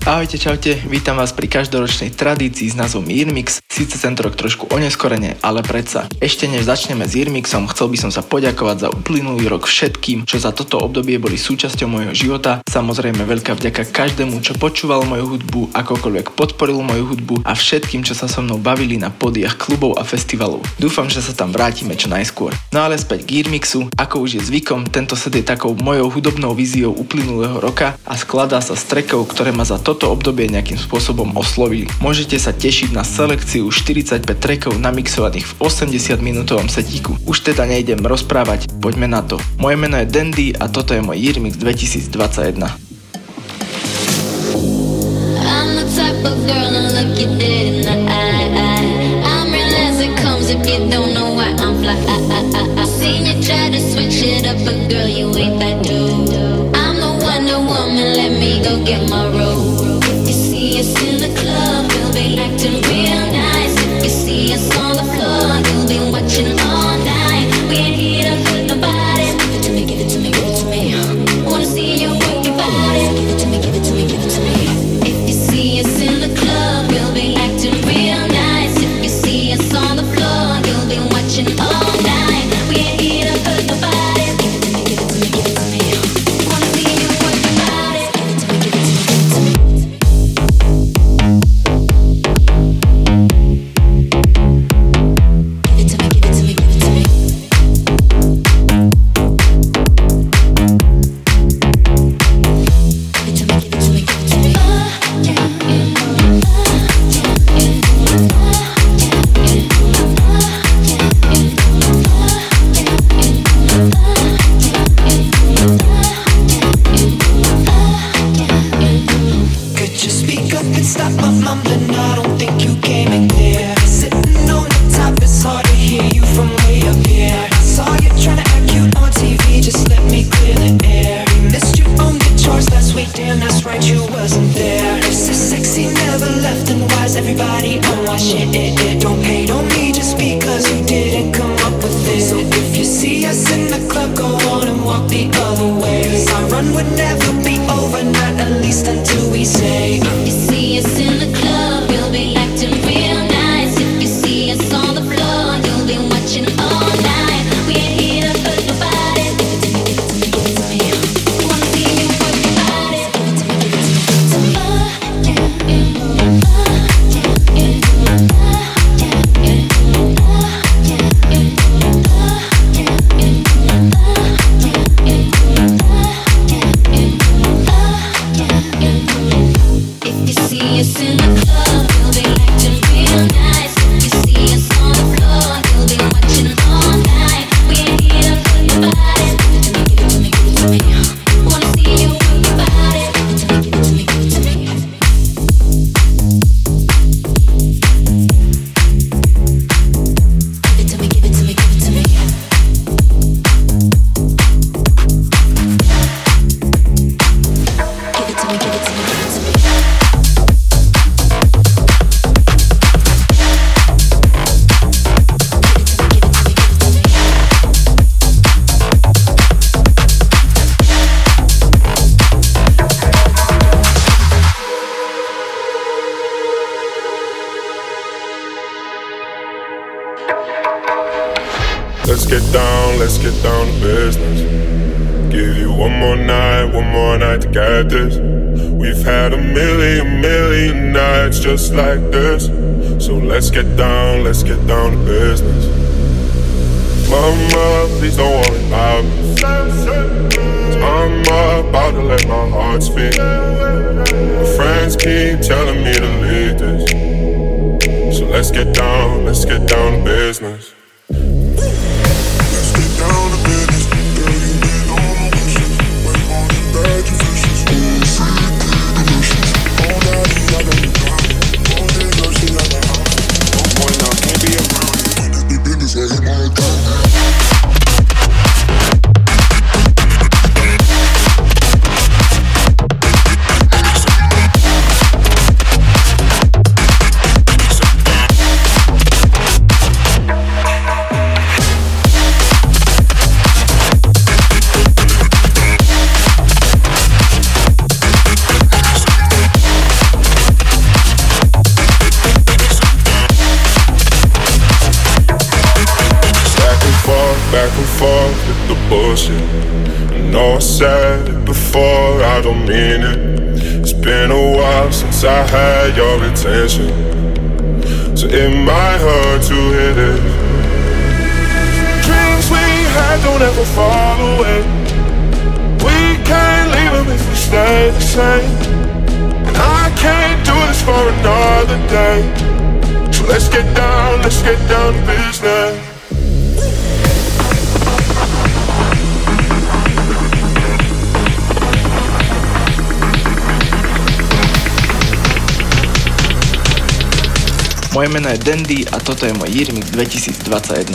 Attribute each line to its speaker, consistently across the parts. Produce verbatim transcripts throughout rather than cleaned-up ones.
Speaker 1: Ahojte, čaute, vítam vás pri každoročnej tradícii s názvom Yearmix. Síce tento rok trošku oneskorene, ale predsa. Ešte než začneme s Yearmixom, chcel by som sa poďakovať za uplynulý rok všetkým, čo za toto obdobie boli súčasťou môjho života. Samozrejme veľká vďaka každému, čo počúval moju hudbu, akokoľvek podporil moju hudbu a všetkým, čo sa so mnou bavili na pódiach klubov a festivalov. Dúfam, že sa tam vrátime čo najskôr. No ale späť k Yearmixu, ako už je zvykom, tento set je takou mojou hudobnou víziou uplynulého roka a skladá sa z trackov, ktoré ma za toto obdobie nejakým spôsobom oslovili. Môžete sa tešiť na selekciu štyridsaťpäť trackov namixovaných v osemdesiat minútovom setíku. Už teda nejdem rozprávať, poďme na to. Moje meno je Dandy a toto je môj Yearmix dvetisícdvadsaťjeden.
Speaker 2: I'm the type of girl to look you dead in the eye. I'm real as it comes if you don't know why I'm fly. I, I, I, I seen you try to switch it up, but girl, you ain't that dude. I'm the Wonder Woman, let me go get my robe. Us in the club, we'll be acting real nice. If you see us on the floor, you'll be watching all night. We ain't here to hurt nobody. Give it to me, give it to me, give it to me. Wanna see you work your body. Give it to me, give it to me, give it to me. If you see us in the club, we'll be acting real nice. If you see us on the floor, you'll be watching all night. We ain't here to hurt nobody. Give it to me, give it to me, give it to me. Wanna see you work your body. Give it to me, give it to me, give it to me.
Speaker 3: Let's get down, let's get down to business. Give you one more night, one more night to get this. We've had a million, million nights just like this. So let's get down, let's get down to business. Mama, please don't worry about me. I'm about to let my heart speak. My friends keep telling me to leave this. So let's get down, let's get down to business. said it before, I don't mean it. It's been a while since I had your attention, so it might hurt to hear this. Dreams we had don't ever fall away. We can't leave them if we stay the same. And I can't do this for another day. So let's get down, let's get down to business.
Speaker 1: Moje meno je Dandy a toto je môj Yearmix dvetisícdvadsaťjeden.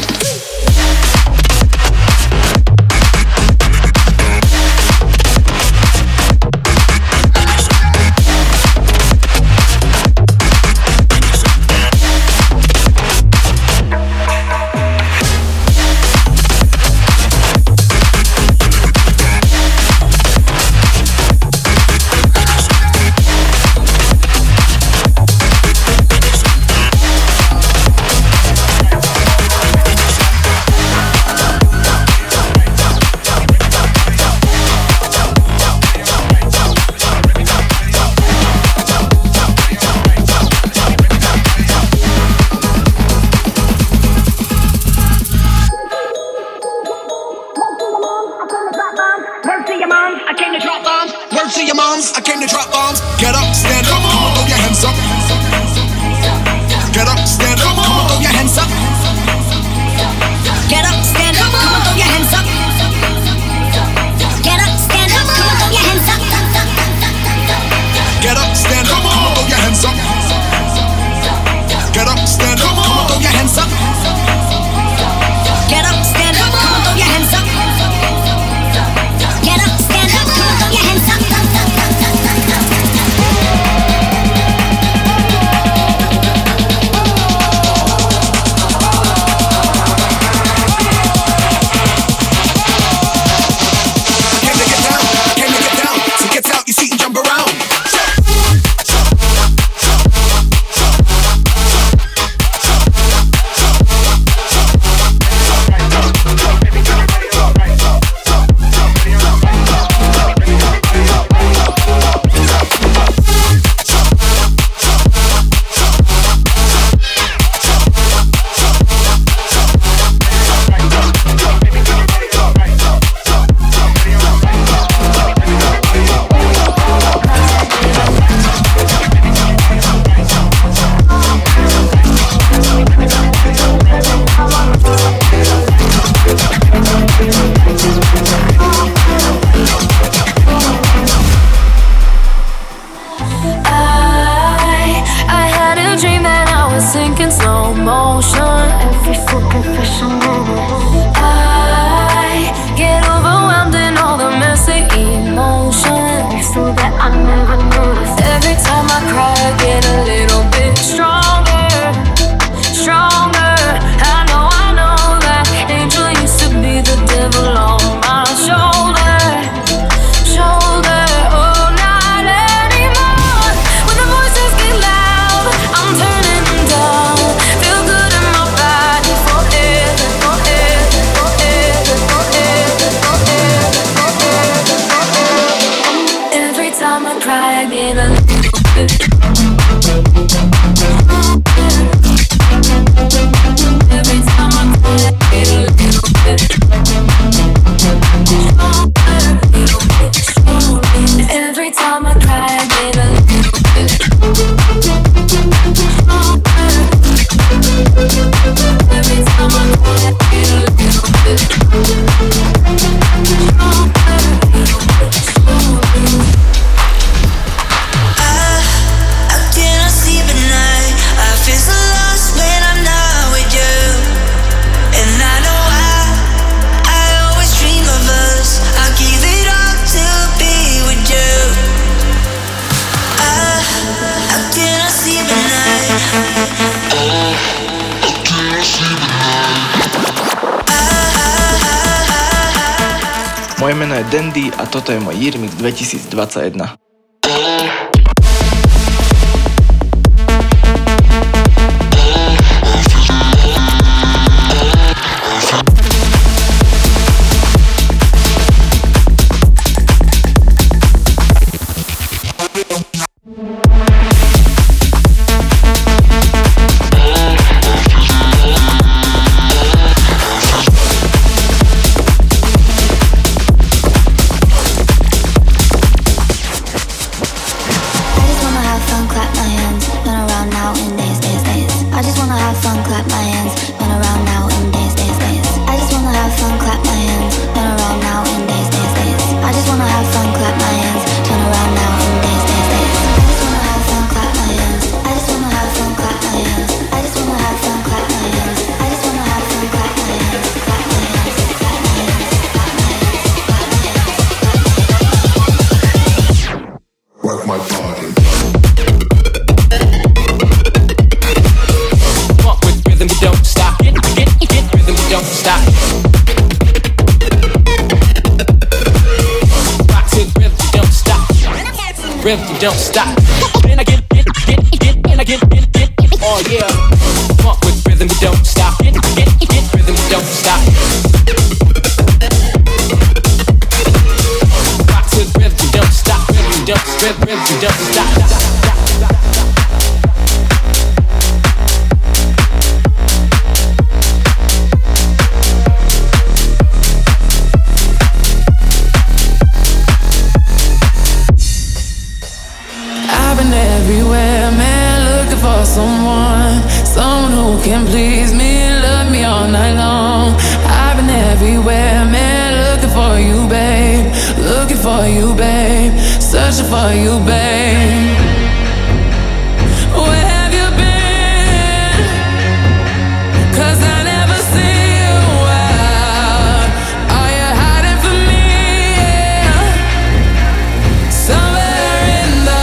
Speaker 1: Moje meno je Dandy a toto je môj Yearmix dvetisícdvadsaťjeden.
Speaker 4: rhythm, you don't stop. Then I get, get, get, get, then I get, get, get, oh yeah. Funk with rhythm, you don't stop. Get, get, get, rhythm, you don't stop. Rock to the rhythm, you don't stop. Rhythm, you don't, rhythm, rhythm, you don't stop.
Speaker 5: Everywhere, man, looking for someone, someone who can please me, love me all night long. I've been everywhere, man, looking for you, babe, looking for you, babe, searching for you, babe. Where have you been? 'Cause I never see you out. Are you hiding from me? Somewhere in the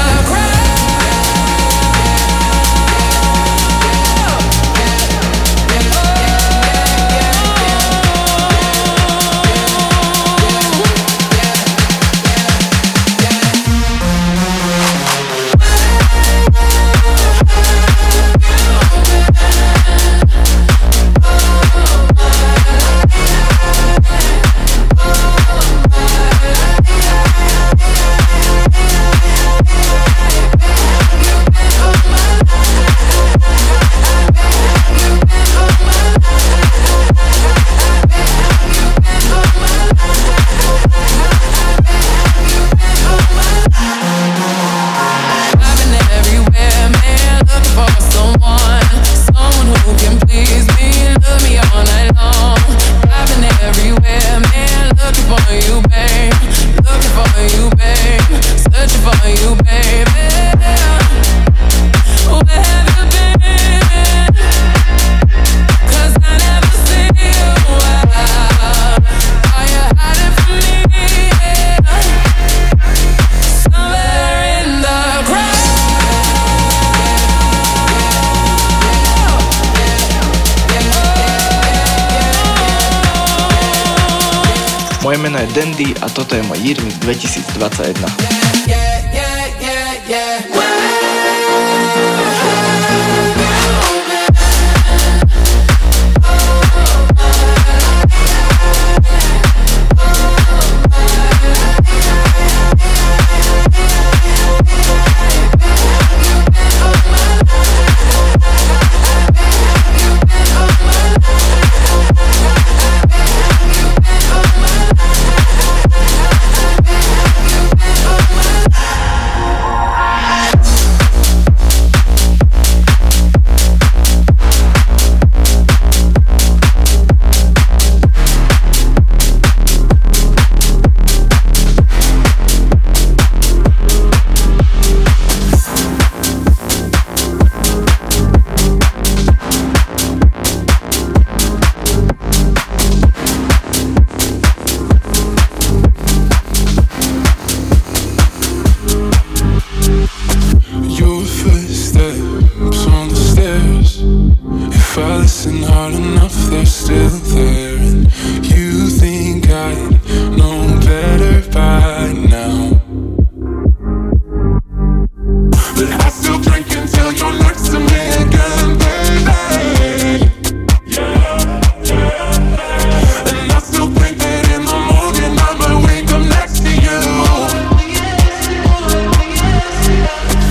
Speaker 1: Moje meno je Dandy a toto je môj Jirmix dvetisícdvadsaťjeden.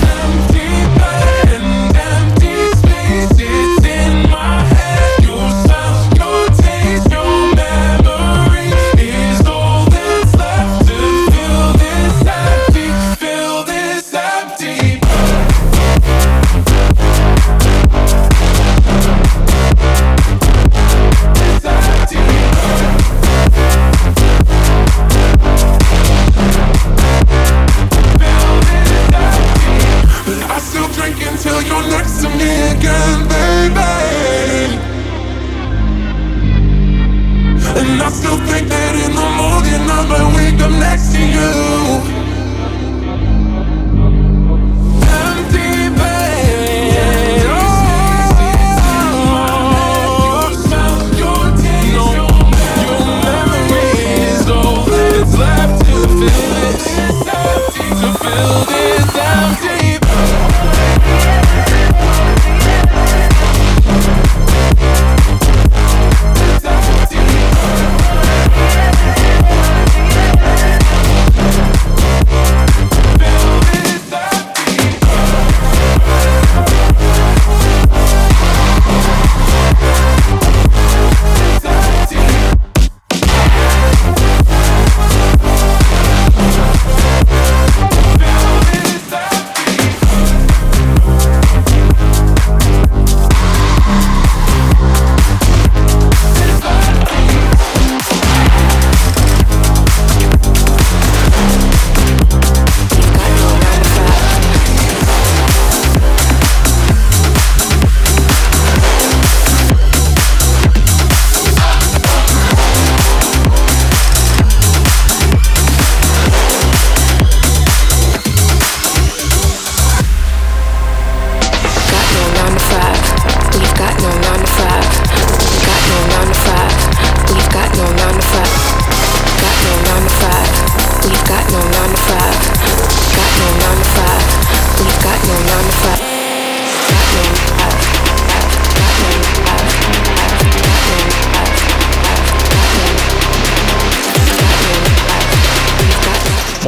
Speaker 3: You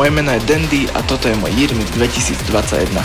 Speaker 1: Moje meno je Dandy a toto je môj Year Mix dvetisícdvadsaťjeden.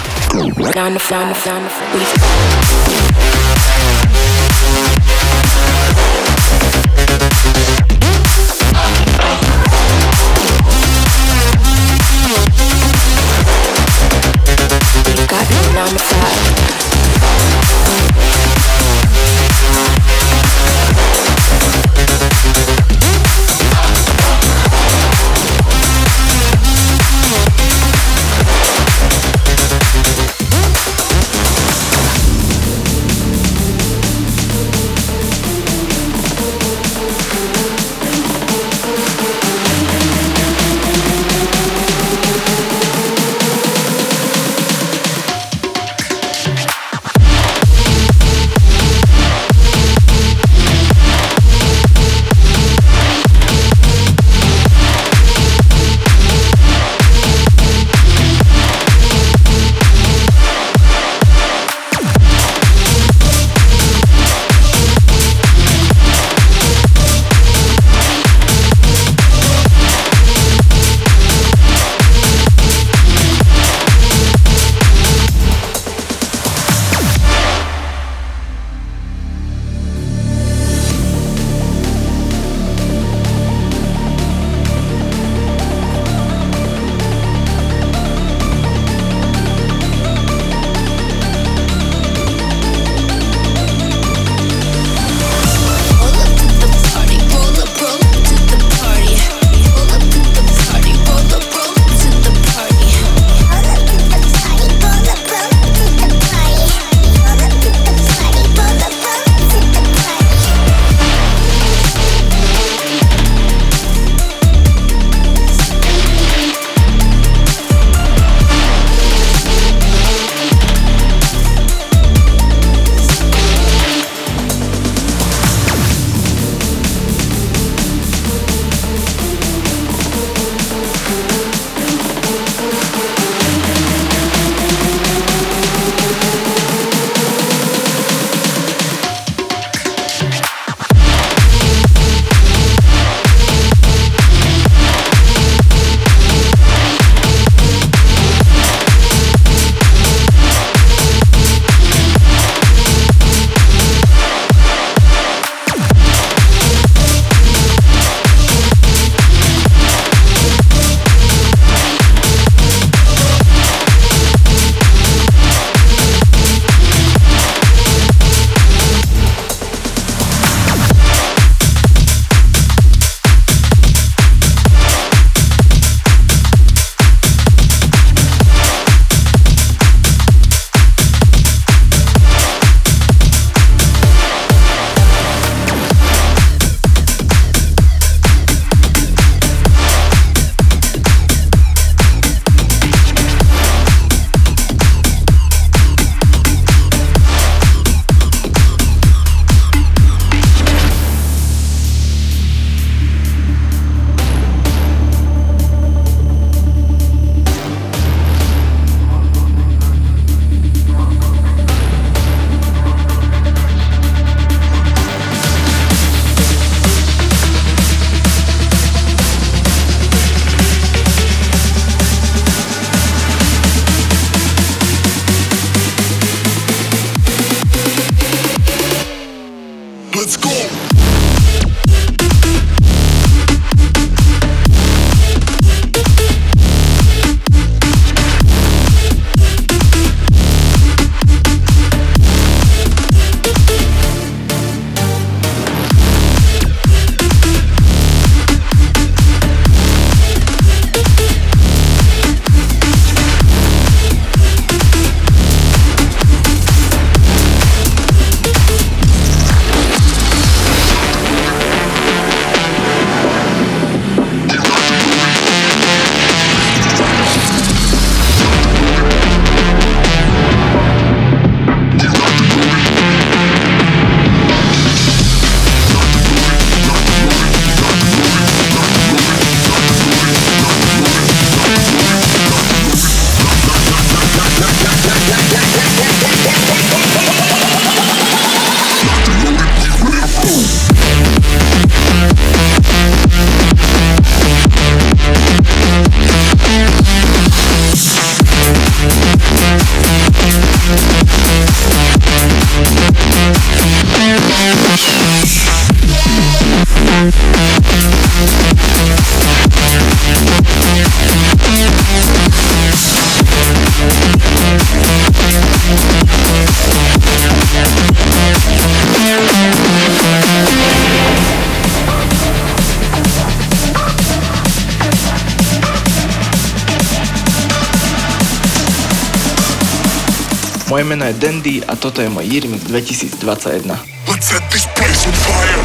Speaker 1: Moje meno je Dandy a toto je môj Year Mix dvetisícdvadsaťjeden.
Speaker 3: Let's set this place on fire.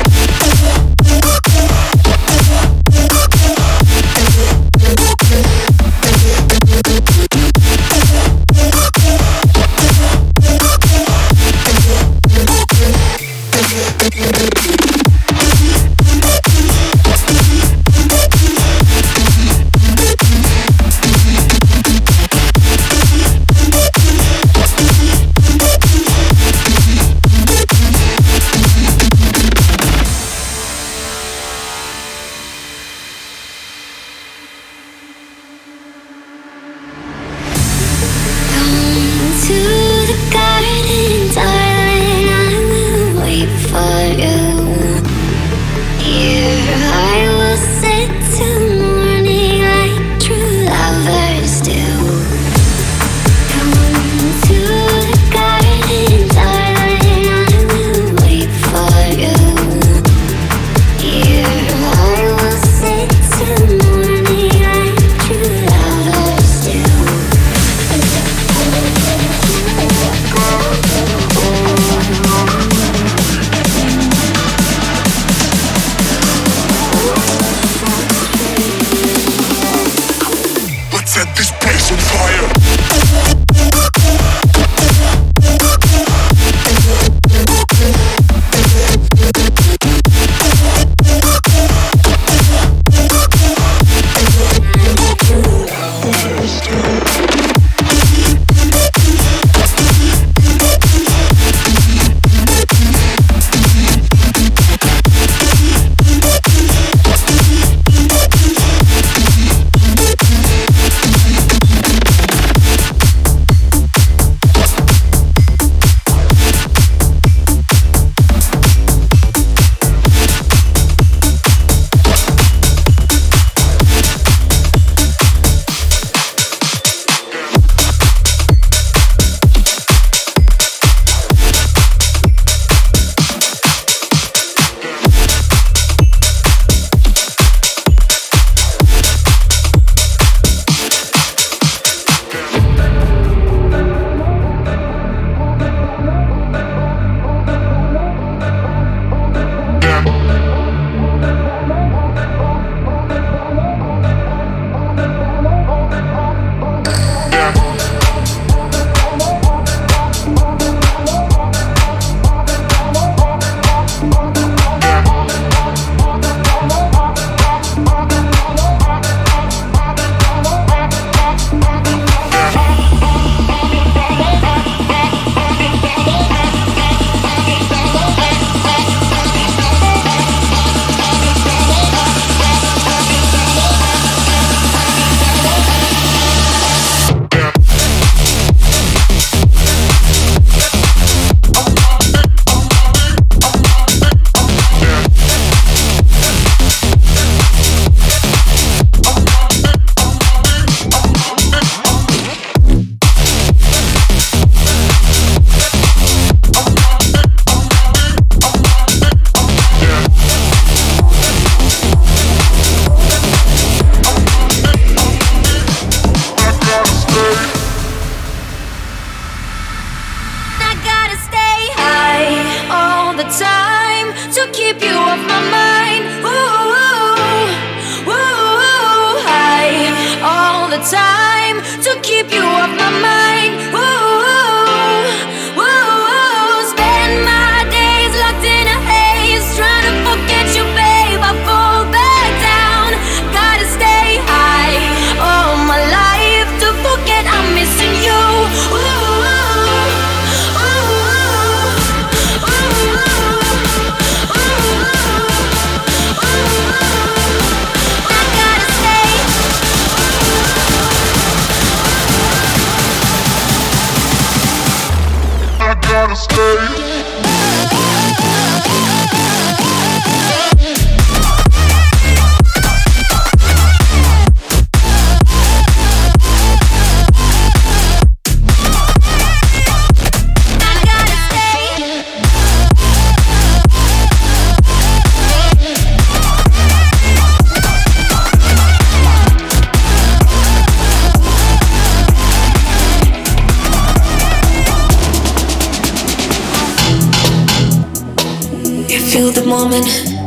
Speaker 6: feel the moment.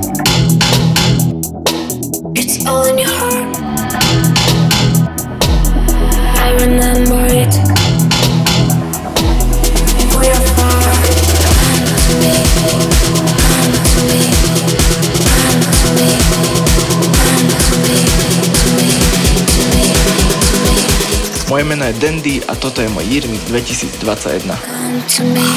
Speaker 6: It's all in your heart. I remember it. We are far. Come to me. Come to me. Come to me. Come to me. To me. To me. To me.
Speaker 1: Moje meno je Dandy a toto je môj Jirmix dvetisícdvadsaťjeden.
Speaker 6: Come to me.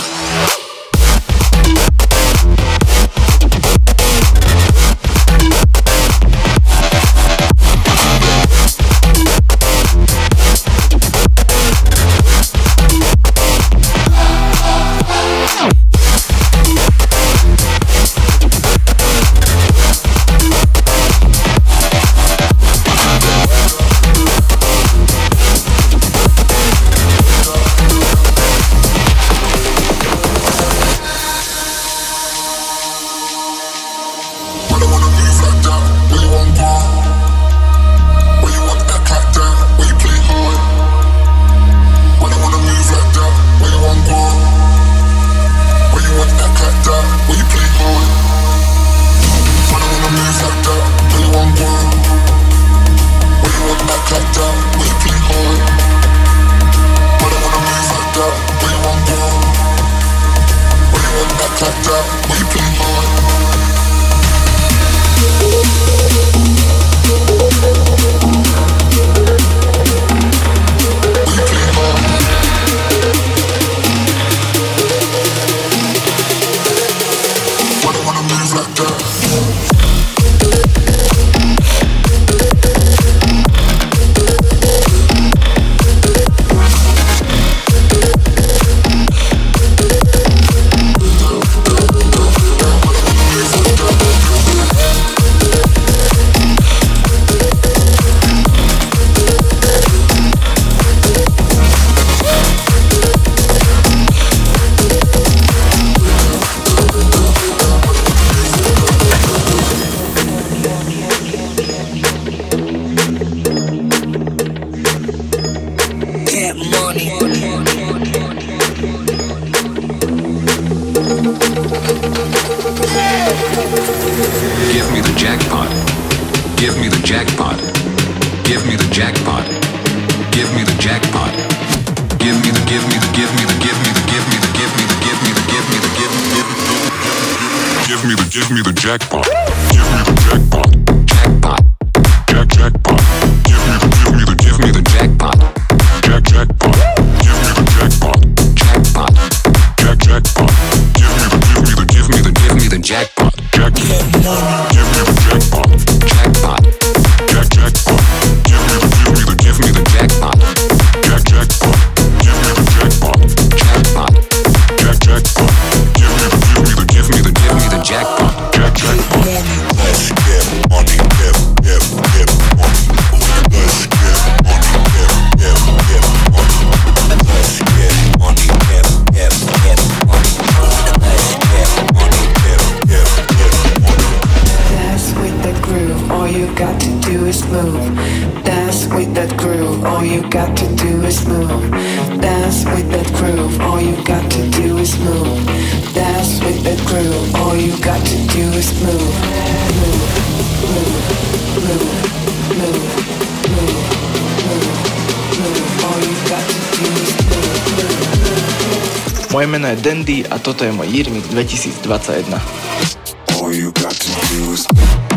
Speaker 1: Moje meno je Dandy a toto je môj Jirmix dvetisícdvadsaťjeden.
Speaker 7: All you got to do is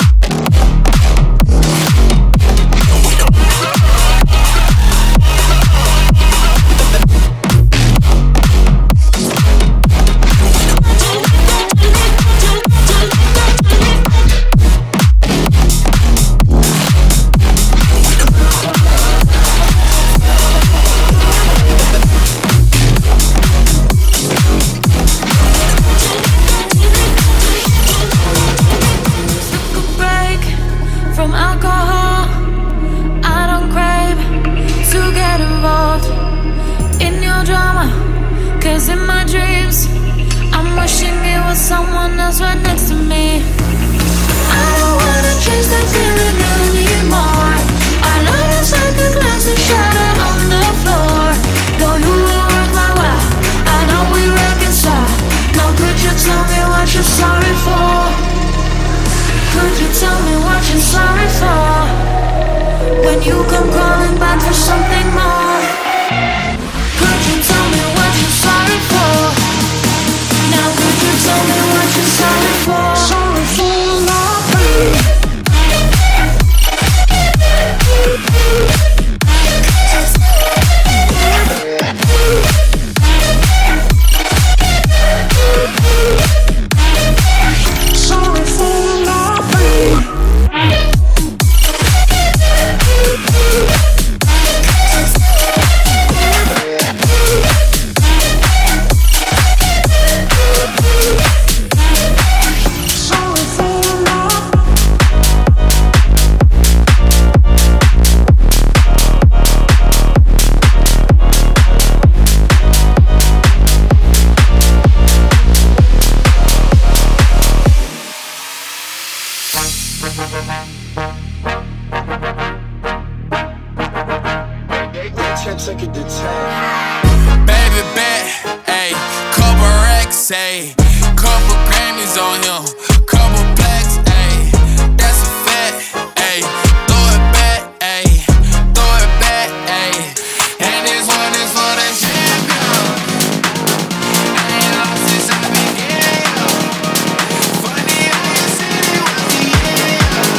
Speaker 6: someone else right next to me. I don't wanna chase that feeling anymore. I know it's like a glass that's shattered on the floor. Though you will work my way, I know we reconcile. Now could you tell me what you're sorry for?
Speaker 8: check, check it to ten.
Speaker 9: Baby bet, ayy, couple racks, ayy, couple Grammys on him, couple blacks, ayy, that's a fact, ayy, throw it back, ayy, throw it back, ayy, and this one is for the champion. I ain't lost since I began. Funny how you said it was the end.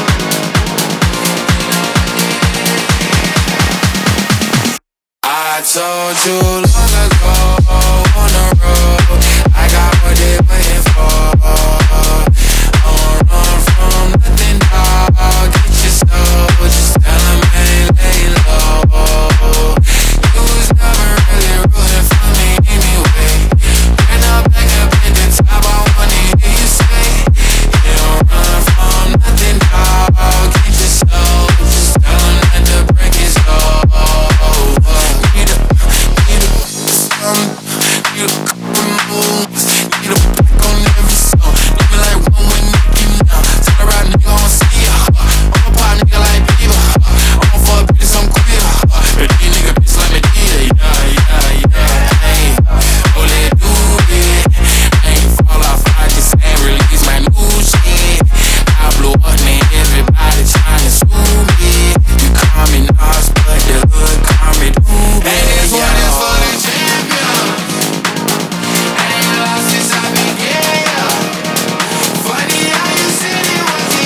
Speaker 9: I told you long ago on the road, I got what they waiting for. I won't run from nothing, dog. Get your soul, just tell them ain't lay low. You was never really rooting for me anyway. When I'm back up at the top, I wanna hear you say, you don't run from nothing, dog. Get your soul, just tell them that the break is over. Need a, need a, some, need a couple moves, need a back on every song. Need me like one with Nicki now. Tell the right nigga I'ma see ya. I'm a pop nigga like Bieber. I'm a fuck bitch, I'm queer. But these nigga bitch like me, yeah, yeah, yeah. Ayy, oh let do it. I ain't fall off, I just ain't release my new shit. I blew up, man, everybody tryna sue me. You call me Nas, but the hood call me Doobie. And this one is for the champion. I ain't lost since I began. Funny how you said it was the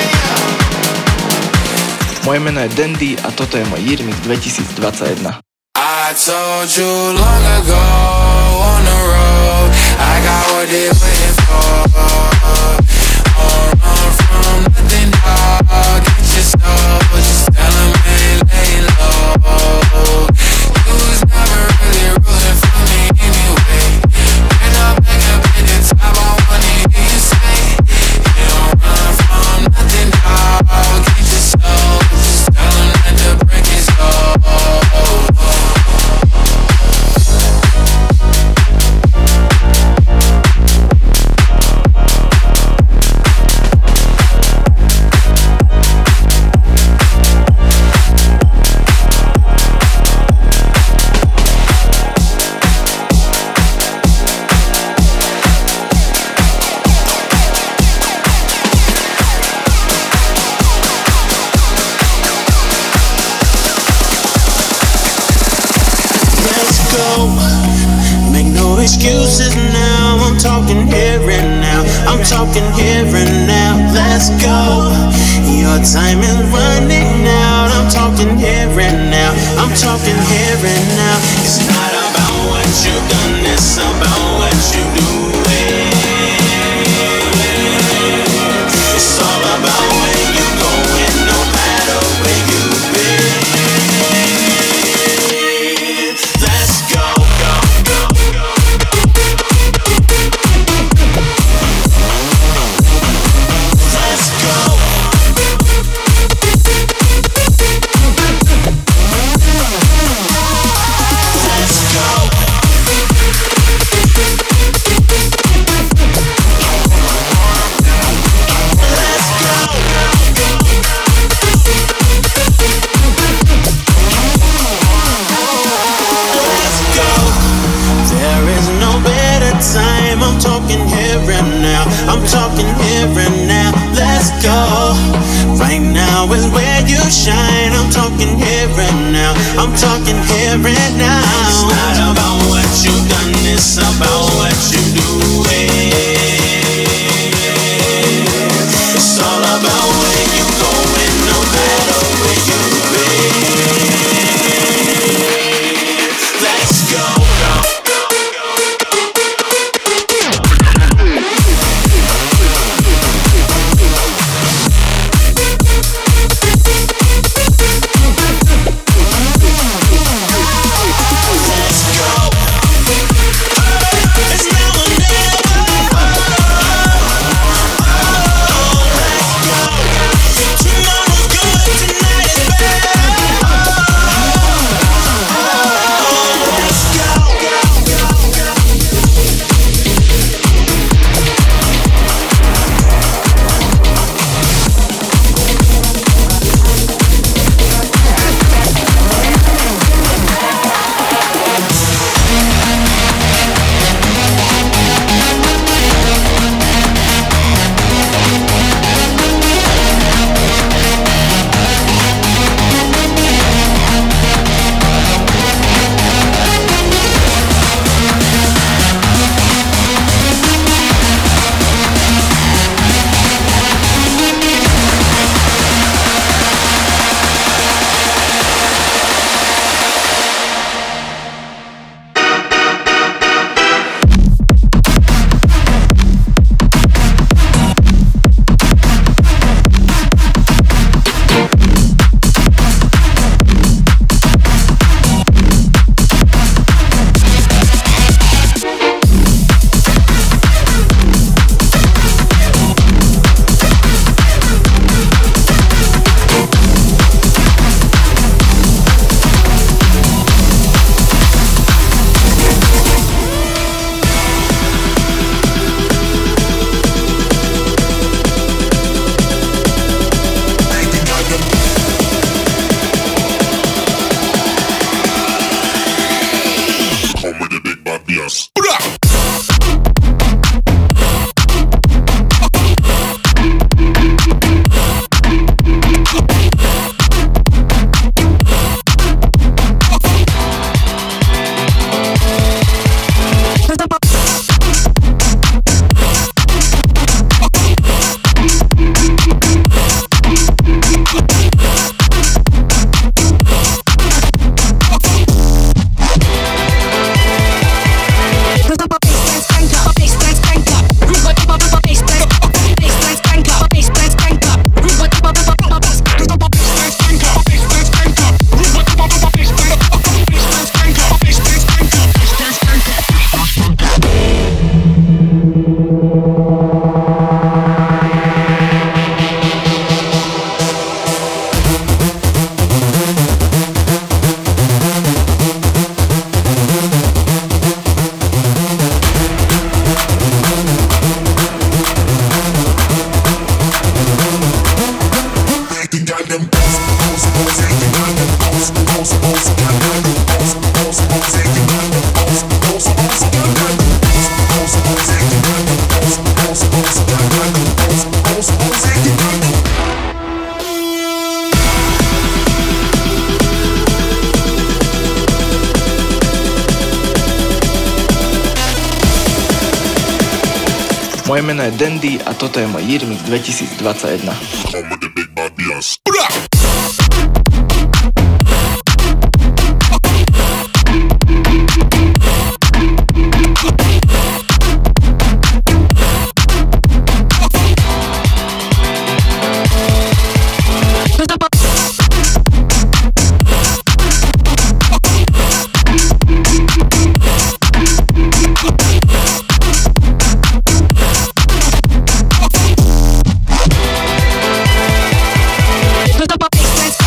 Speaker 9: end.
Speaker 1: Moje meno je Dandy a toto je môj Year Mix dvetisícdvadsaťjeden.
Speaker 9: I told you long ago on the road, I got what they waiting for. Won't run from nothing, dog. Get your soul, just tell them ain't lay low. You was never really rooting for me anyway. When I'm back up at the top, I wanna hear you say, you don't run from nothing, dog. Get your soul, just tell them that the break is over.
Speaker 10: Let's go. Make no excuses now. I'm talking here and now. I'm talking here and now. Let's go. Your time is running out. I'm talking here and now. I'm talking here and now. It's not about what you've done. It's about what you do. It's all about where you going, no matter where you've been. Let's go, go, go, go, let's go. Let's go. Let's go. There is no better time. I'm talking here and now. I'm talking here and now. Let's go. Right now is where you shine. I'm talking here and now. I'm talking here and now. It's not about what you've done. It's about what you do. It's all about where you going, no matter where you've been. Let's go. Let's go. It's now or never.
Speaker 1: Moje meno je Dandy a toto je môj Year Mix dvetisícdvadsaťjeden.
Speaker 6: Let's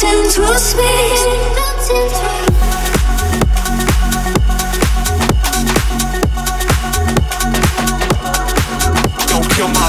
Speaker 6: melting through space.
Speaker 9: Don't kill my.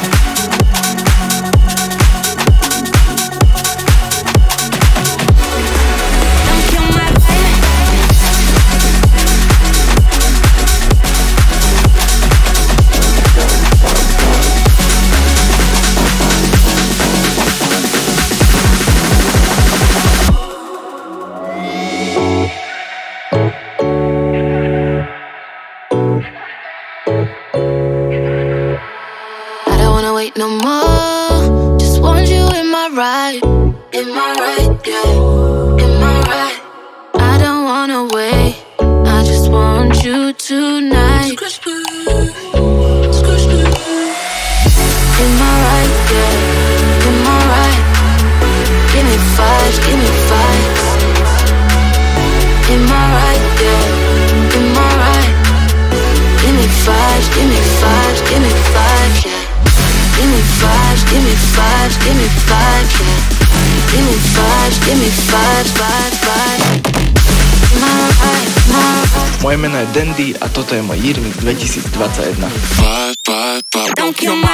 Speaker 6: No more, just want you in my ride, in my ride, yeah, in my ride. I don't wanna wait, I just want you tonight. In my ride, yeah, in my ride. Give me five, give me five. In my ride, yeah, in my ride. Give me five, give me five, give me five, yeah. Give me five, give me five, give me five, yeah. Give me five, give me five, five, five. My right, my right.
Speaker 1: Moje meno je Dandy a toto je môj Year Mix dvetisícdvadsaťjeden.
Speaker 9: Five, five, five.
Speaker 6: Don't kill my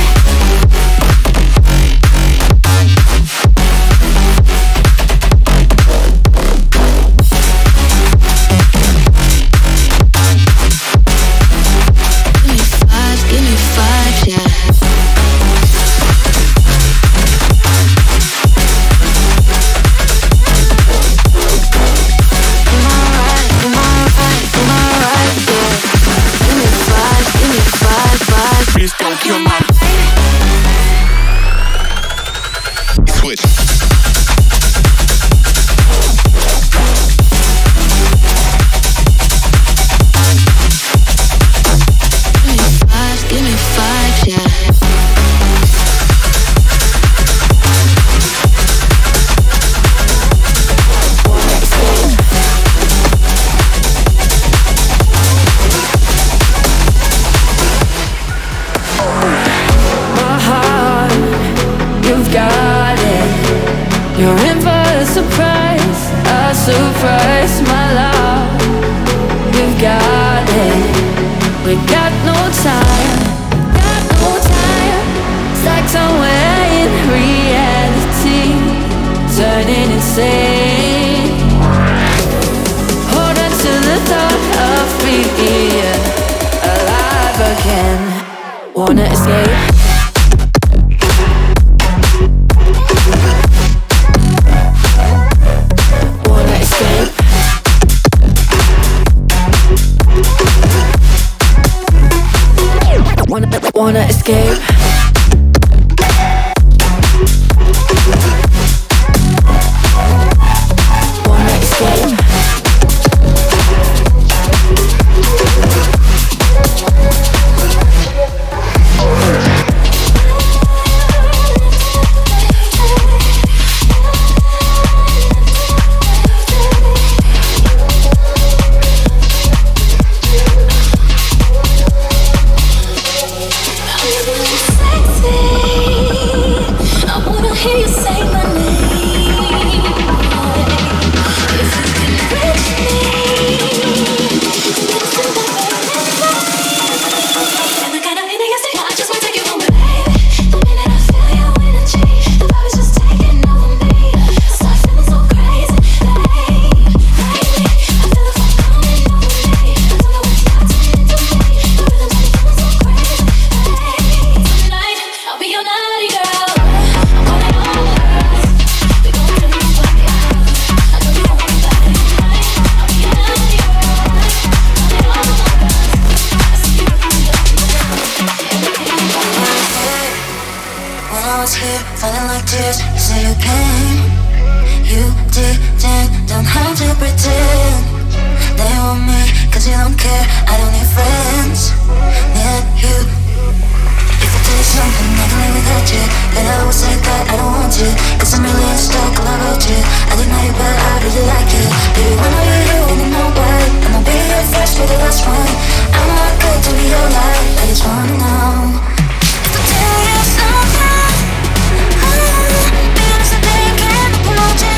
Speaker 5: Wanna escape? Wanna escape? Wanna, wanna escape? Wanna escape?
Speaker 6: Wanna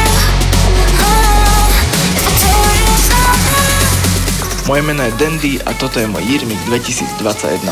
Speaker 1: Moje meno je Dandy a toto je môj Year Mix dvetisícdvadsaťjeden.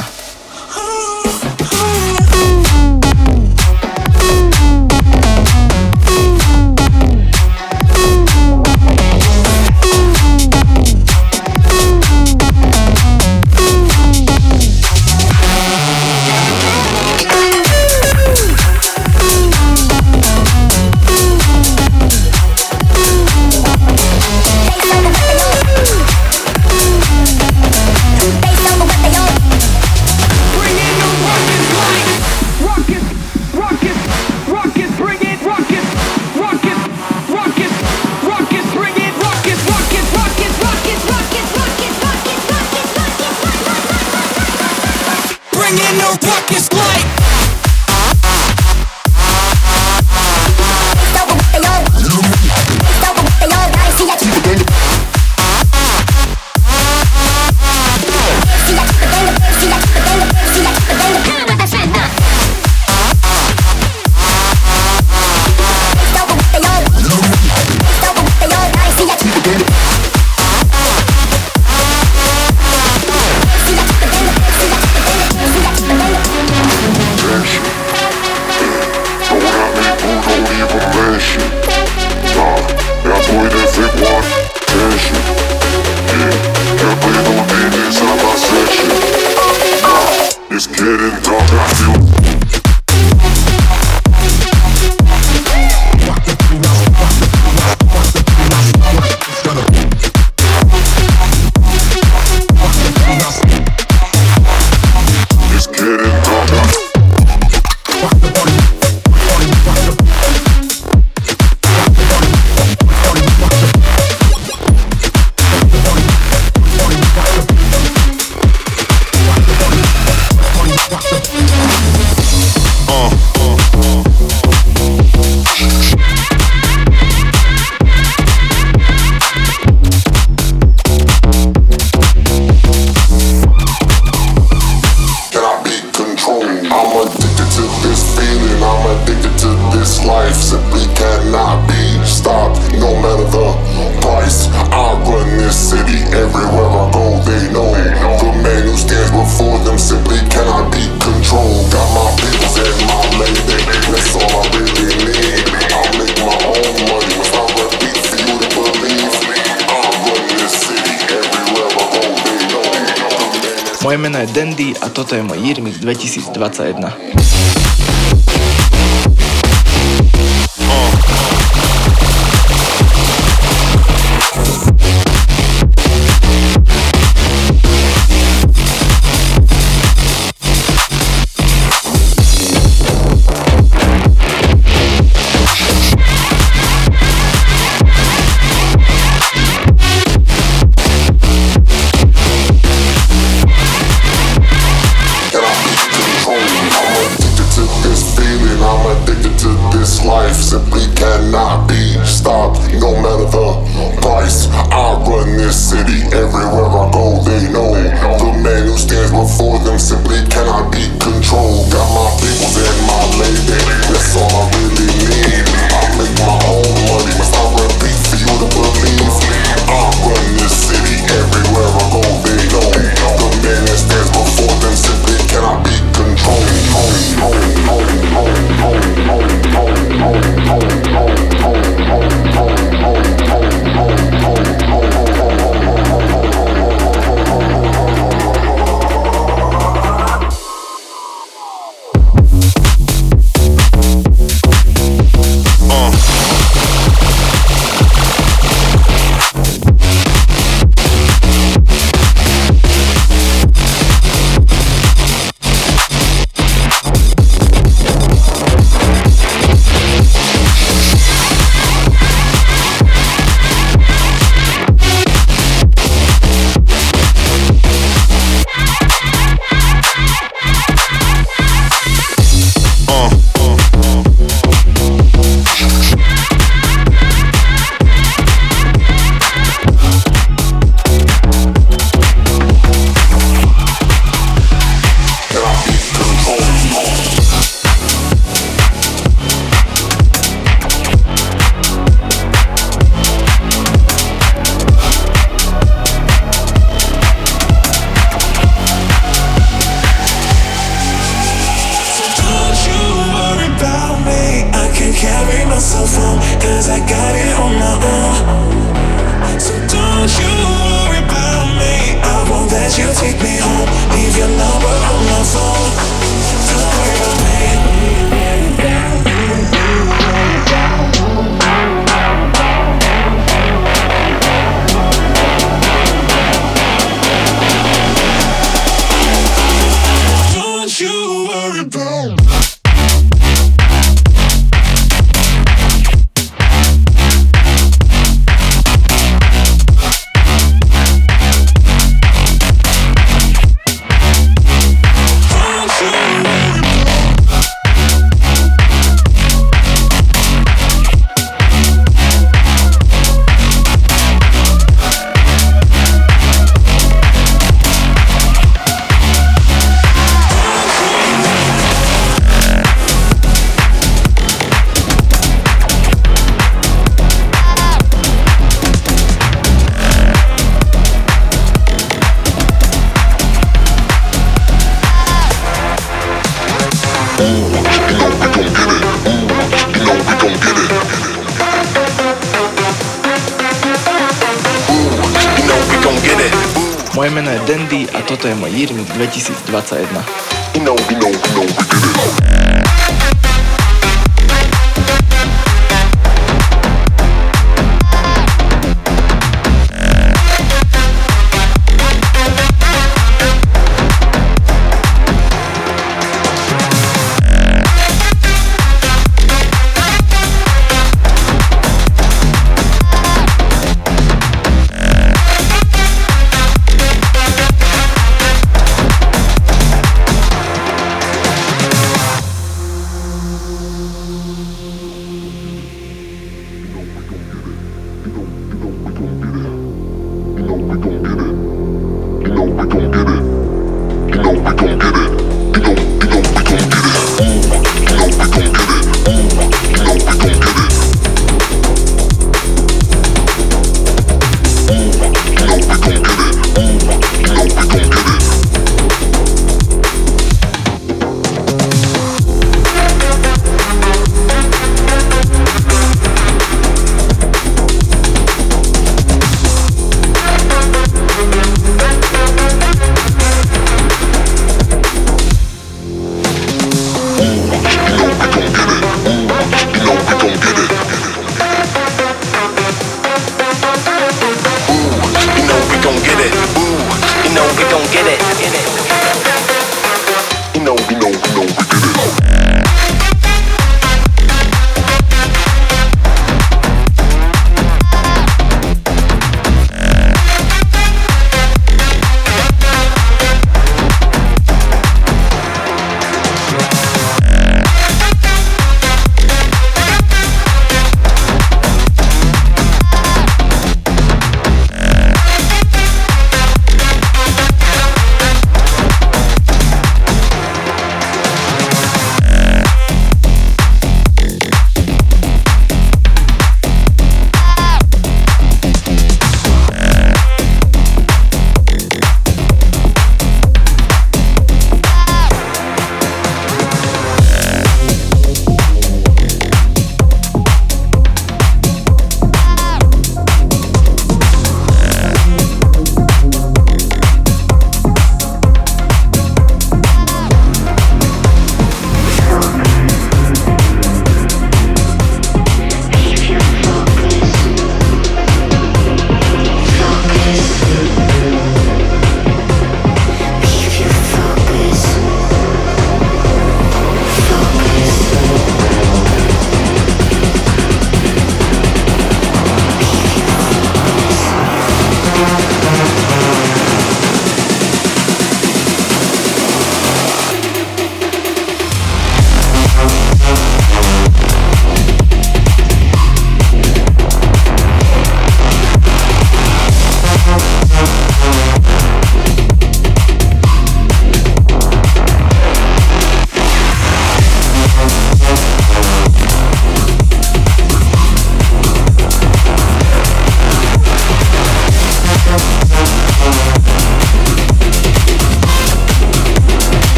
Speaker 1: Moje meno je Dandy a toto je môj Year Mix dvetisícdvadsaťjeden. meno je Dandy a toto je môj Year Mix dvetisícdvadsaťjeden.
Speaker 7: You know, you know, you know, we did it.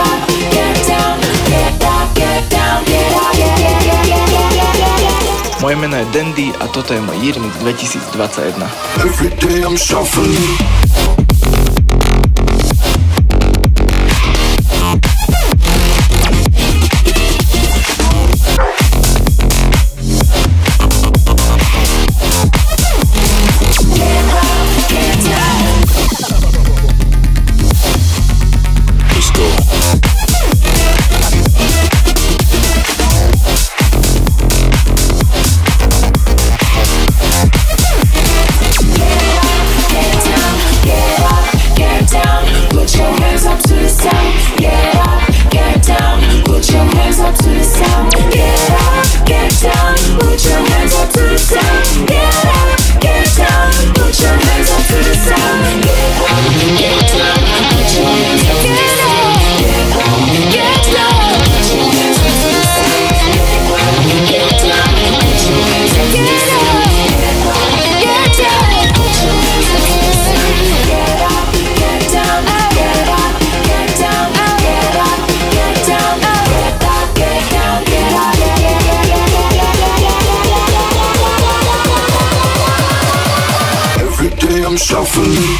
Speaker 1: Moje meno je Dandy a toto je môj Year Mix dvetisícdvadsaťjeden.
Speaker 7: Every day I'm shuffling. I'm shuffling.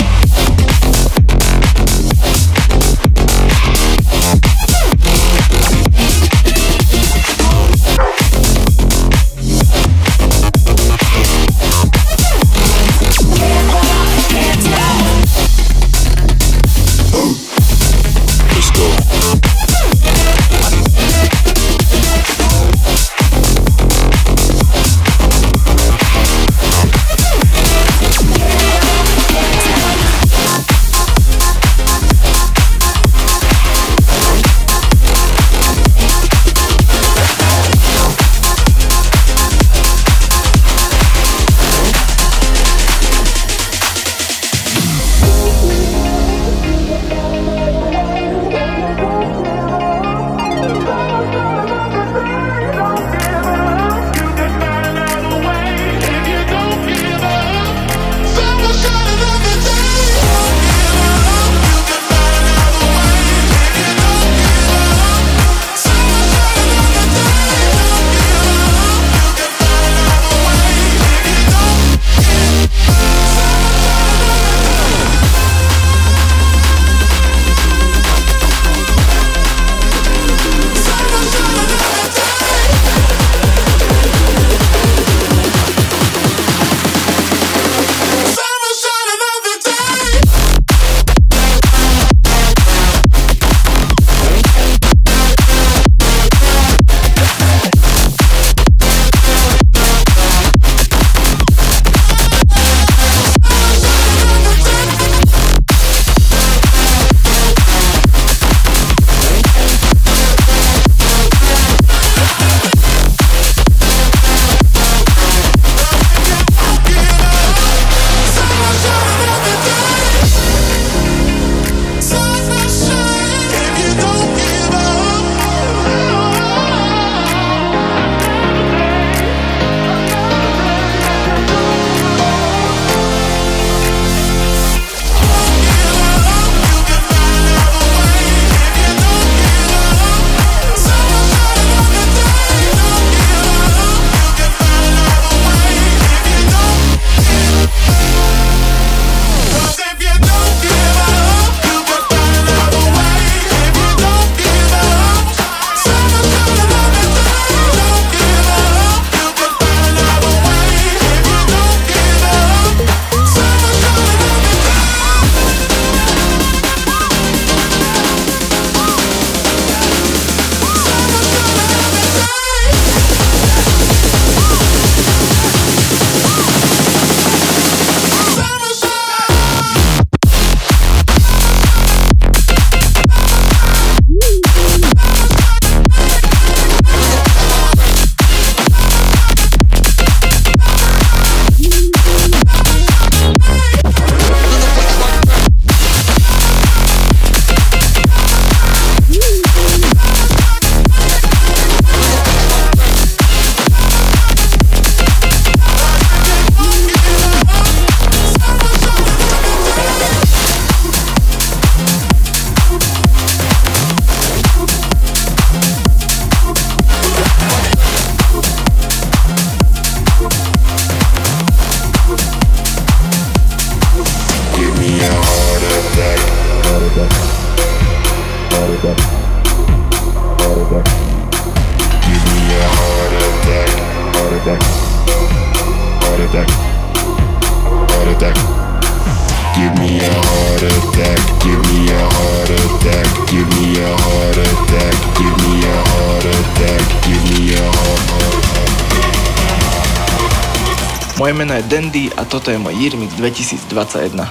Speaker 1: Moje meno je Dandy a toto je môj Year Mix dvetisícdvadsaťjeden.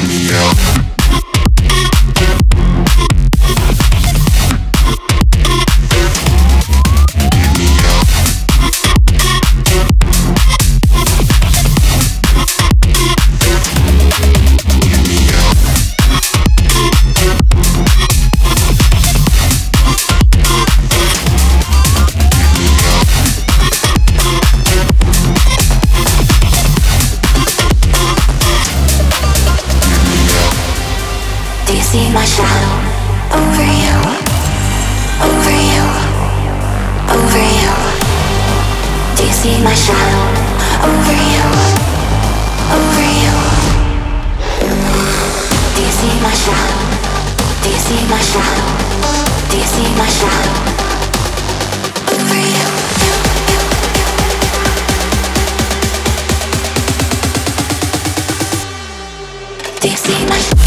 Speaker 6: See my shadow over you, over you, over you. Do you see my shadow over you, over you? Do you see my shadow? Do you see my shadow? Do you see my shadow over you? Do you see my shadow?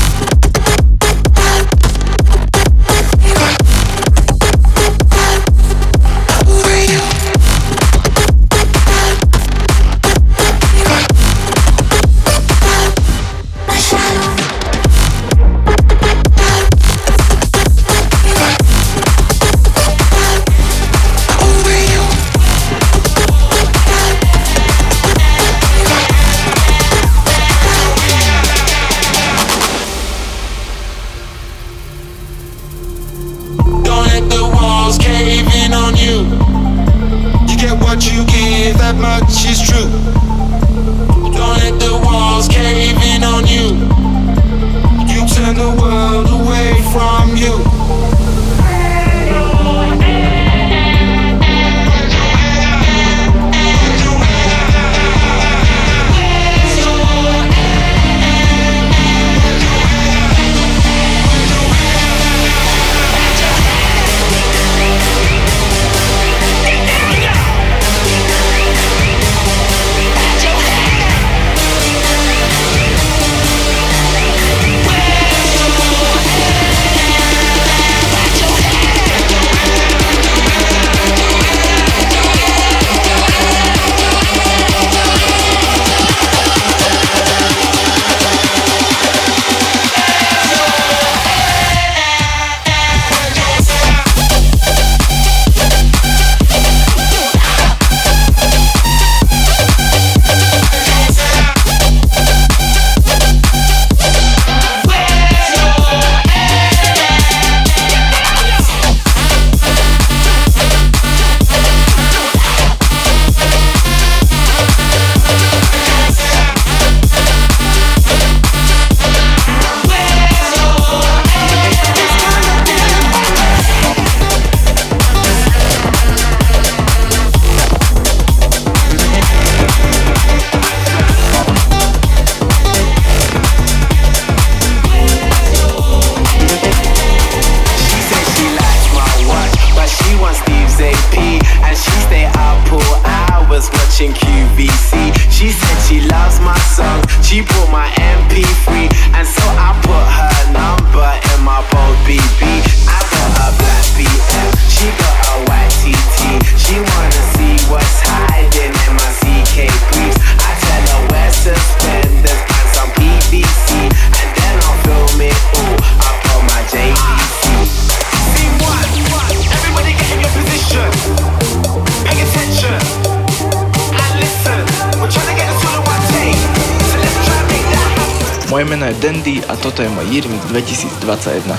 Speaker 1: Moje meno je Dandy a toto je môj Year Mix dvetisícdvadsaťjeden.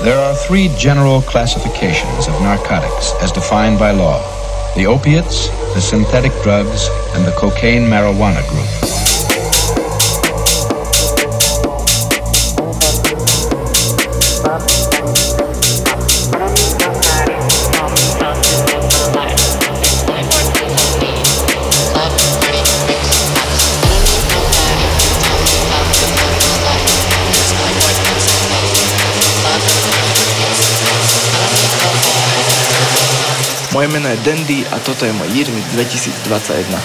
Speaker 8: There are three general classifications of narcotics as defined by law: the opiates, the synthetic drugs, and the cocaine marijuana group.
Speaker 1: Moje meno je Dandy a toto je môj Year Mix dvetisícdvadsaťjeden.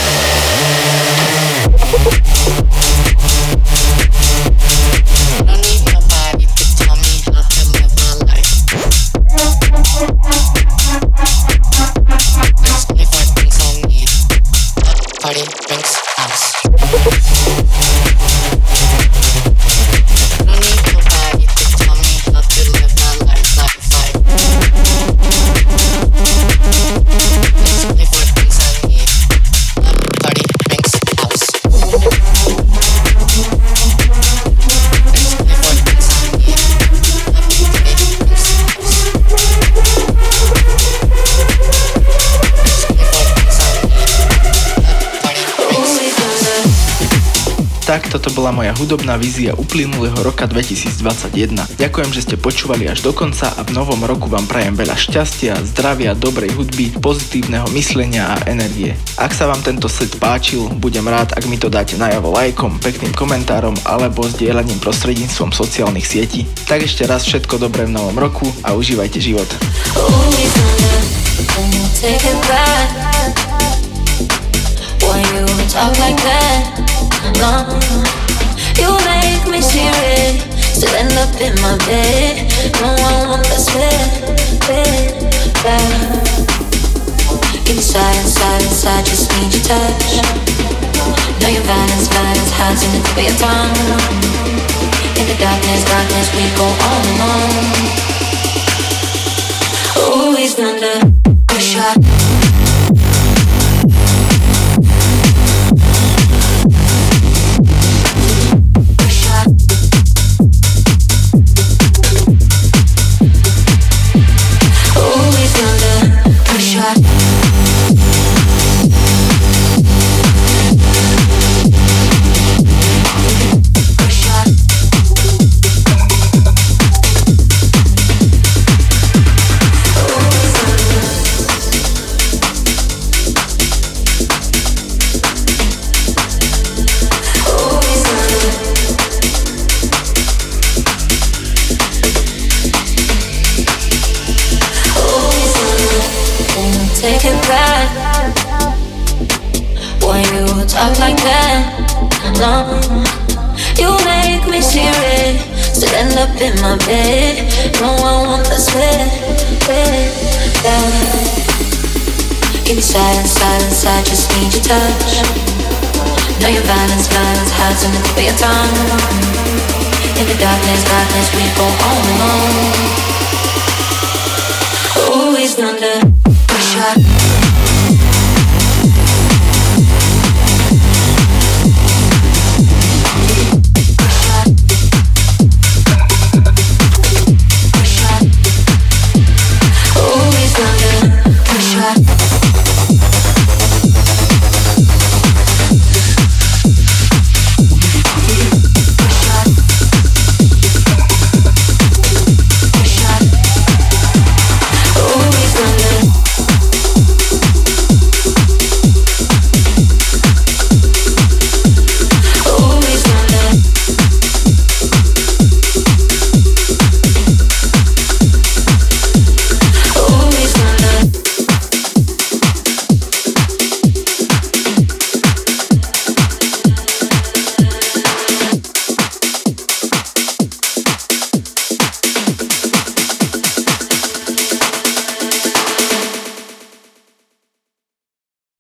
Speaker 1: Tak, toto bola moja hudobná vízia uplynulého roka dvetisícdvadsaťjeden. Ďakujem, že ste počúvali až do konca a v novom roku vám prajem veľa šťastia, zdravia, dobrej hudby, pozitívneho myslenia a energie. Ak sa vám tento set páčil, budem rád, ak mi to dáte najavo lajkom, pekným komentárom alebo zdieľaním prostredníctvom sociálnych sietí. Tak ešte raz všetko dobré v novom roku a užívajte život.
Speaker 6: No, you make me serious. Still end up in my bed. No, I want this bed, bed, bed. Inside, inside, inside, just need your touch. Know your violence, violence hides in the tip of your tongue. In the darkness, darkness, we go on and on. Always under pressure. Take it back when you talk like that. No, you make me serious. Still end up in my bed. No, I want this bed, bed, bed. Inside, inside, inside, just need your touch. Know your violence, violence hides in the tip of your tongue. In the darkness, darkness, we go on and on. Always under pressure.